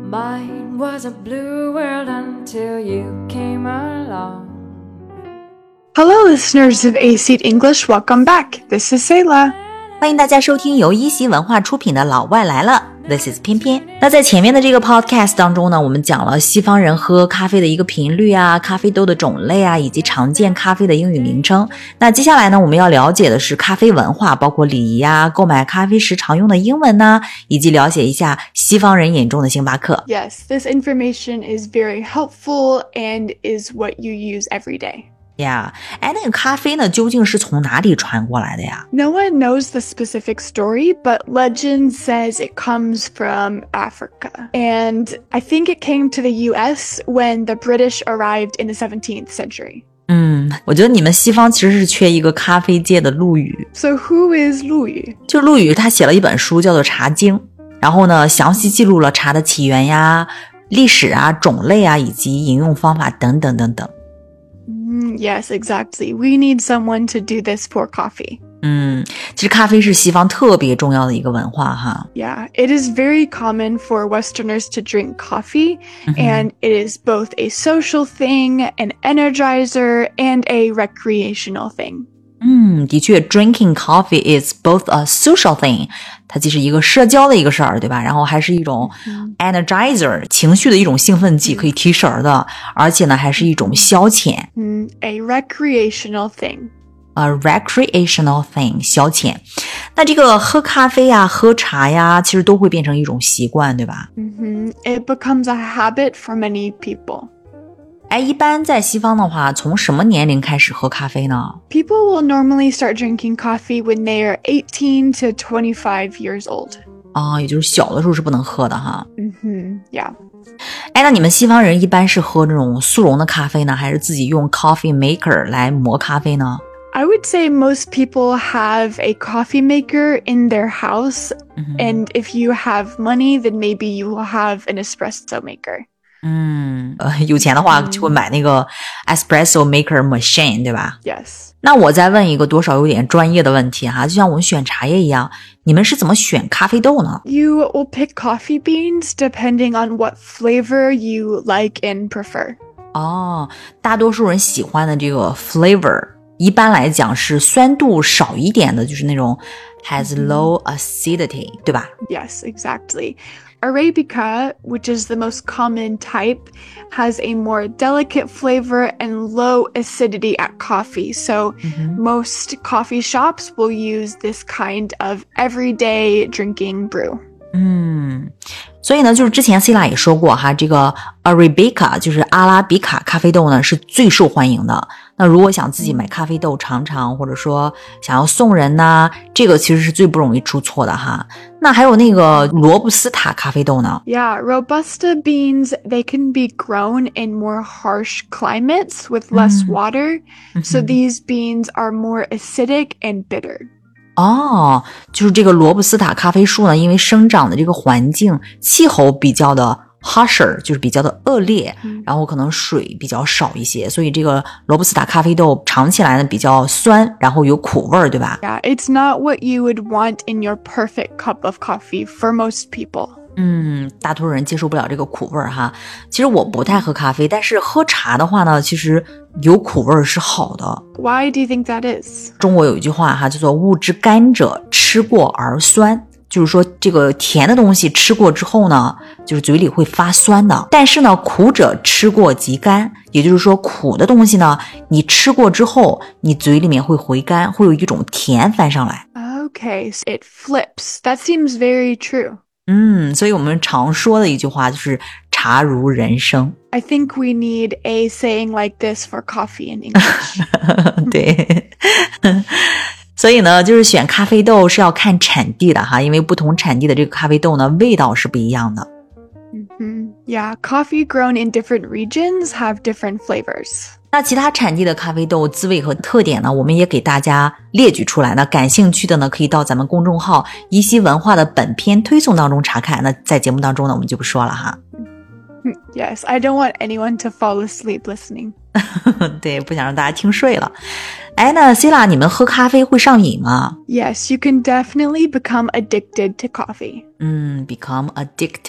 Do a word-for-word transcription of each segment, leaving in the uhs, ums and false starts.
Mine was a blue world until you came along. Hello, listeners of A Seat English. Welcome back. This is Sayla. 欢迎大家收听由一席文化出品的老外来了 This is 偏偏。那在前面的这个 podcast 当中呢，我们讲了西方人喝咖啡的一个频率啊，咖啡豆的种类啊，以及常见咖啡的英语名称。那接下来呢，我们要了解的是咖啡文化，包括礼仪啊，购买咖啡时常用的英文啊，以及了解一下西方人眼中的星巴克。 Yes, this information is very helpful and is what you use every day.Yeah. 哎，那个咖啡呢，究竟是从哪里传过来的呀？ No one knows the specific story, but legend says it comes from Africa. And I think it came to the U S when the British arrived in the seventeenth century. 嗯，我觉得你们西方其实是缺一个咖啡界的陆羽。 So who is 陆羽？ 就陆羽他写了一本书叫做《茶经》，然后呢，详细记录了茶的起源呀、历史啊、种类啊，以及饮用方法等等等等。 Yes, exactly. We need someone to do this for coffee. 嗯，其实咖啡是西方特别重要的一个文化哈。 Yeah, it is very common for Westerners to drink coffee, mm-hmm. and it is both a social thing, an energizer, and a recreational thing. 嗯，的确 drinking coffee is both a social thing. 它既是一个社交的一个事儿，对吧？然后还是一种 energizer, 情绪的一种兴奋剂，可以提神儿的，而且呢还是一种消遣。 嗯 A recreational thing. A recreational thing, 消遣。那这个喝咖啡呀、喝茶呀，其实都会变成一种习惯，对吧？ Mm-hmm. It becomes a habit for many people. 哎，一般在西方的话，从什么年龄开始喝咖啡呢？ People will normally start drinking coffee when they are eighteen to twenty-five years old. 啊，也就是小的时候是不能喝的哈。 嗯哼 Yeah. 哎，那你们西方人一般是喝这种速溶的咖啡呢，还是自己用 coffee maker 来磨咖啡呢？ I would say most people have a coffee maker in their house, mm-hmm. and if you have money, then maybe you will have an espresso maker. 嗯，呃，有钱的话就会买那个 espresso maker machine， 对吧？ Yes. 那我再问一个多少有点专业的问题哈，就像我们选茶叶一样，你们是怎么选咖啡豆呢？ You will pick coffee beans depending on what flavor you like and prefer. 哦，大多数人喜欢的这个 flavor， 一般来讲是酸度少一点的，就是那种 has low acidity， 对吧？ Yes, exactly.Arabica, which is the most common type, has a more delicate flavor and low acidity at coffee. So mm-hmm. most coffee shops will use this kind of everyday drinking brew. 嗯，所以呢，就是之前 Sila 也说过哈，这个 Arabica 就是阿拉比卡咖啡豆呢是最受欢迎的。那如果想自己买咖啡豆尝尝，或者说想要送人呢，这个其实是最不容易出错的哈。那还有那个罗布斯塔咖啡豆呢？ Yeah, Robusta beans, they can be grown in more harsh climates with less water. Mm-hmm. So these beans are more acidic and bitter. 哦，就是这个罗布斯塔咖啡树呢，因为生长的这个环境气候比较的 harsher， 就是比较的恶劣，嗯，然后可能水比较少一些，所以这个罗布斯塔咖啡豆尝起来呢比较酸，然后有苦味，对吧？ Yeah, it's not what you would want in your perfect cup of coffee for most people. 嗯，大多数人接受不了这个苦味儿哈。其实我不太喝咖啡，但是喝茶的话呢，其实有苦味儿是好的。 Why do you think that is? 中国有一句话哈，叫做物之甘者，吃过而酸。就是说这个甜的东西吃过之后呢，就是嘴里会发酸的。但是呢，苦者吃过即甘，也就是说苦的东西呢，你吃过之后，你嘴里面会回甘，会有一种甜翻上来。 Okay, so it flips. That seems very true. 嗯，所以我们常说的一句话就是茶如人生。 I think we need a saying like this for coffee in English. 对，所以呢，就是选咖啡豆是要看产地的哈，因为不同产地的这个咖啡豆呢，味道是不一样的。 Mm-hmm. Yeah, coffee grown in different regions have different flavors. 那其他产地的咖啡豆滋味和特点呢，我们也给大家列举出来。那感兴趣的呢，可以到咱们公众号一席文化的本篇推送当中查看。那在节目当中呢，我们就不说了哈。 Yes, I don't want anyone to fall asleep listening. 对，不想让大家听睡了。哎，那 Sila 你们喝咖啡会上瘾吗？ Yes, you can definitely become addicted to coffee. 嗯 become addicted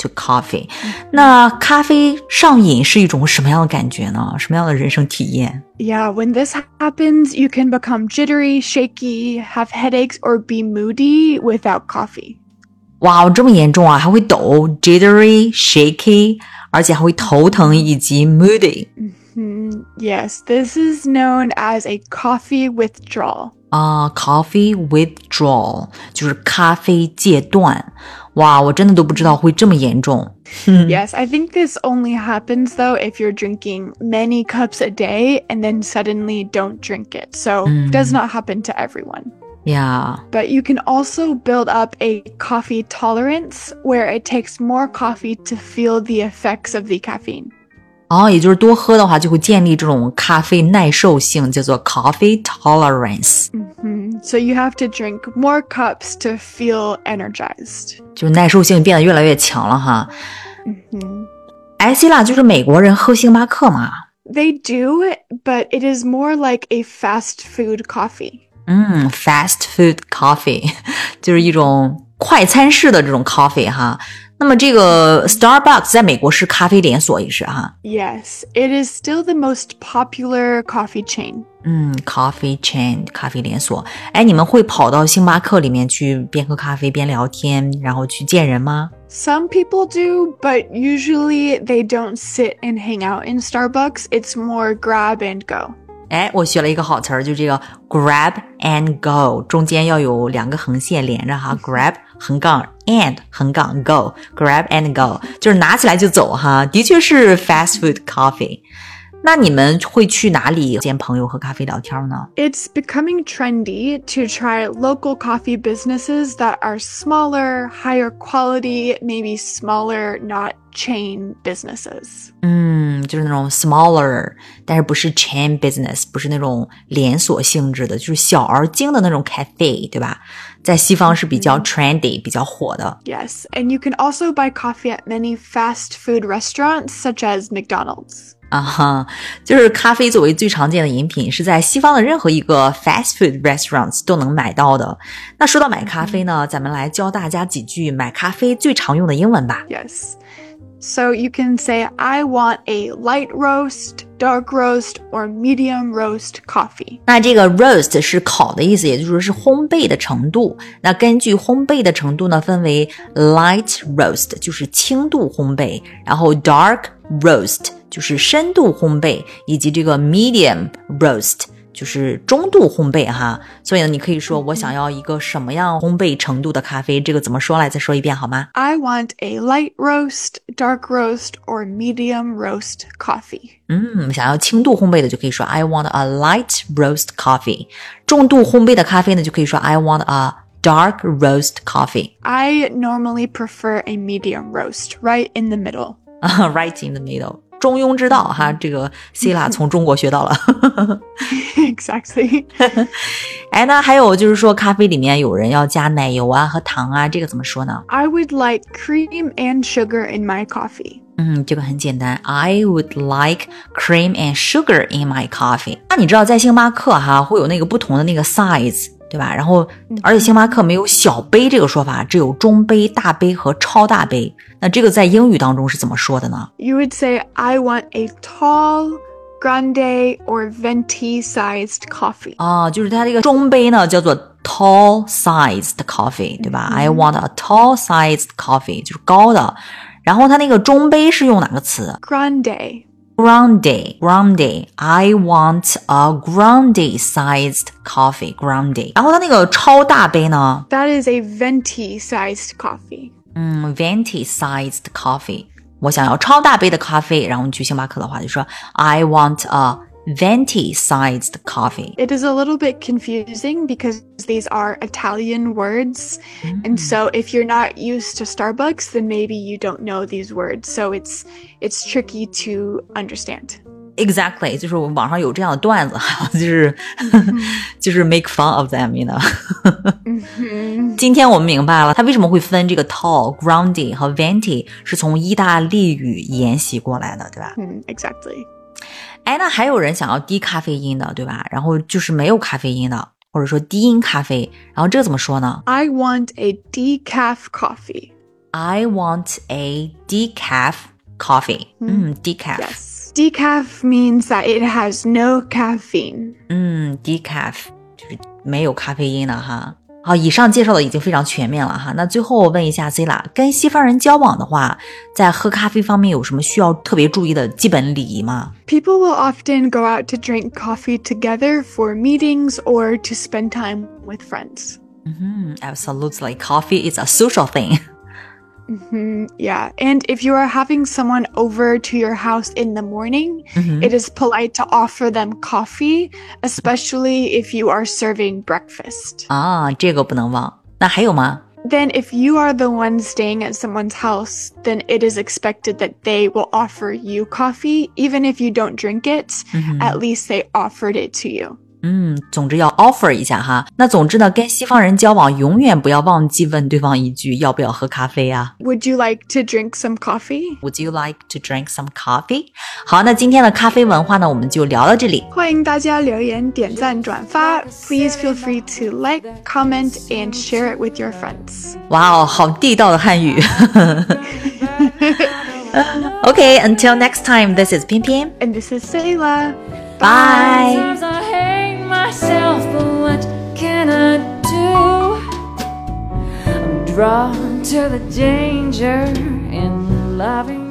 to coffee。那咖啡上瘾是一种什么样的感觉呢？什么样的人生体验？ Yeah, when this happens, you can become jittery, shaky, have headaches, or be moody without coffee. 哇，这么严重啊，还会抖 jittery, shaky， 而且还会头疼以及 moody。 Mm, yes, this is known as a coffee withdrawal. 啊、uh, coffee withdrawal 就是咖啡戒断。哇，我真的都不知道会这么严重。 Yes, I think this only happens though if you're drinking many cups a day and then suddenly don't drink it. So it does not happen to everyone. Yeah. But you can also build up a coffee tolerance where it takes more coffee to feel the effects of the caffeine. 哦，也就是多喝的话就会建立这种咖啡耐受性，叫做 coffee tolerance。 Mm-hmm. So you have to drink more cups to feel energized. 就是耐受性变得越来越强了哈。 Mm-hmm. 哎，希腊就是美国人喝星巴克嘛？ They do, but it is more like a fast food coffee. 嗯 fast food coffee 就是一种快餐式的这种 coffee 哈。那么这个 Starbucks 在美国是咖啡连锁也是哈。 Yes, it is still the most popular coffee chain. 嗯 coffee chain 咖啡连锁。哎，你们会跑到星巴克里面去边喝咖啡边聊天，然后去见人吗？ Some people do, but usually they don't sit and hang out in Starbucks. It's more grab and go. 哎，我学了一个好词儿，就这个 grab and go， 中间要有两个横线连着哈 grab 横杠 and 横杠 go grab and go 就是拿起来就走哈，的确是 fast food coffee。 那你们会去哪里见朋友喝咖啡聊天呢？ It's becoming trendy to try local coffee businesses that are smaller, higher quality, maybe smaller, not chain businesses. 嗯，就是那种 smaller， 但是不是 chain business， 不是那种连锁性质的，就是小而精的那种 cafe， 对吧？在西方是比较 trendy， 比较火的。 Yes, and you can also buy coffee at many fast food restaurants such as McDonald's. 啊哈，就是咖啡作为最常见的饮品，是在西方的任何一个 fast food restaurants 都能买到的。那说到买咖啡呢，咱们来教大家几句买咖啡最常用的英文吧。 Yes. So you can say, I want a light roast, dark roast, or medium roast coffee. 那这个 roast 是烤的意思，也就是说是烘焙的程度。那根据烘焙的程度呢，分为 light roast 就是轻度烘焙，然后 dark roast 就是深度烘焙，以及这个 medium roast就是中度烘焙哈。所以呢，你可以说我想要一个什么样烘焙程度的咖啡，这个怎么说来再说一遍好吗？ I want a light roast, dark roast, or medium roast coffee. 嗯，想要轻度烘焙的就可以说 I want a light roast coffee。 重度烘焙的咖啡呢，就可以说 I want a dark roast coffee. I normally prefer a medium roast, right in the middle. Right in the middle， 中庸之道哈，这个 Sila 从中国学到了。 Exactly. 哎，那还有就是说咖啡里面有人要加奶油啊和糖啊，这个怎么说呢？ I would like cream and sugar in my coffee. 嗯，这个很简单 I would like cream and sugar in my coffee。 那你知道在星巴克哈会有那个不同的那个 size， 对吧？然后而且星巴克没有小杯这个说法，只有中杯、大杯和超大杯。那这个在英语当中是怎么说的呢？ You would say, I want a tall, grande, or venti-sized coffee. 啊，就是它这个中杯呢叫做 tall sized coffee， 对吧？ I want a tall sized coffee， 就是高的。然后它那个中杯是用哪个词？ Grande. Grande, grande. I want a grande sized coffee, grande. 然后它那个超大杯呢？ That is a venti-sized coffee. 嗯 venti sized coffee。 我想要超大杯的咖啡，然后你去星巴克的话就说 I want a venti sized coffee. It is a little bit confusing because these are Italian words. And so if you're not used to Starbucks, then maybe you don't know these words. So it's it's tricky to understand. Exactly， 就是我网上有这样的段子，就是就是 make fun of them， you know 今天我们明白了，它为什么会分这个 tall, grande 和 venti， 是从意大利语沿袭过来的，对吧？ Mm, exactly. 哎，那还有人想要低咖啡因的，对吧？然后就是没有咖啡因的，或者说低因咖啡，然后这个怎么说呢？ I want a decaf coffee. I want a decaf coffee. 嗯 decaf. Yes. Decaf means that it has no caffeine. 嗯 decaf 就是没有咖啡因的哈。好，以上介绍的已经非常全面了哈。那最后我问一下 Zila， 跟西方人交往的话，在喝咖啡方面有什么需要特别注意的基本礼仪吗？ People will often go out to drink coffee together for meetings or to spend time with friends. Mm-hmm, absolutely. Coffee is a social thing. Mm-hmm, yeah. And if you are having someone over to your house in the morning, mm-hmm. it is polite to offer them coffee, especially if you are serving breakfast. 啊，这个不能忘。那还有吗？ Then if you are the one staying at someone's house, then it is expected that they will offer you coffee. Even if you don't drink it, mm-hmm. at least they offered it to you. 嗯，总之要 offer 一下哈。那总之呢，跟西方人交往永远不要忘记问对方一句要不要喝咖啡啊。 Would you like to drink some coffee? Would you like to drink some coffee? 好，那今天的咖啡文化呢，我们就聊到这里。 欢迎大家留言、点赞、转发。Please feel free to like, comment, and share it with your friends. 哇哦，好地道的汉语。Okay, until next time, this is 偏偏 And this is Sayla. Bye. Sometimes I hate myself, but what can I do? I'm drawn to the danger in loving